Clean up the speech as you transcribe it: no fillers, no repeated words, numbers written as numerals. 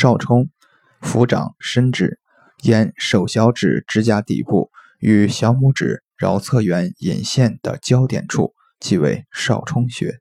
少冲，抚掌伸指，沿手小指指甲底部与小拇指桡侧缘引线的交点处，即为少冲穴。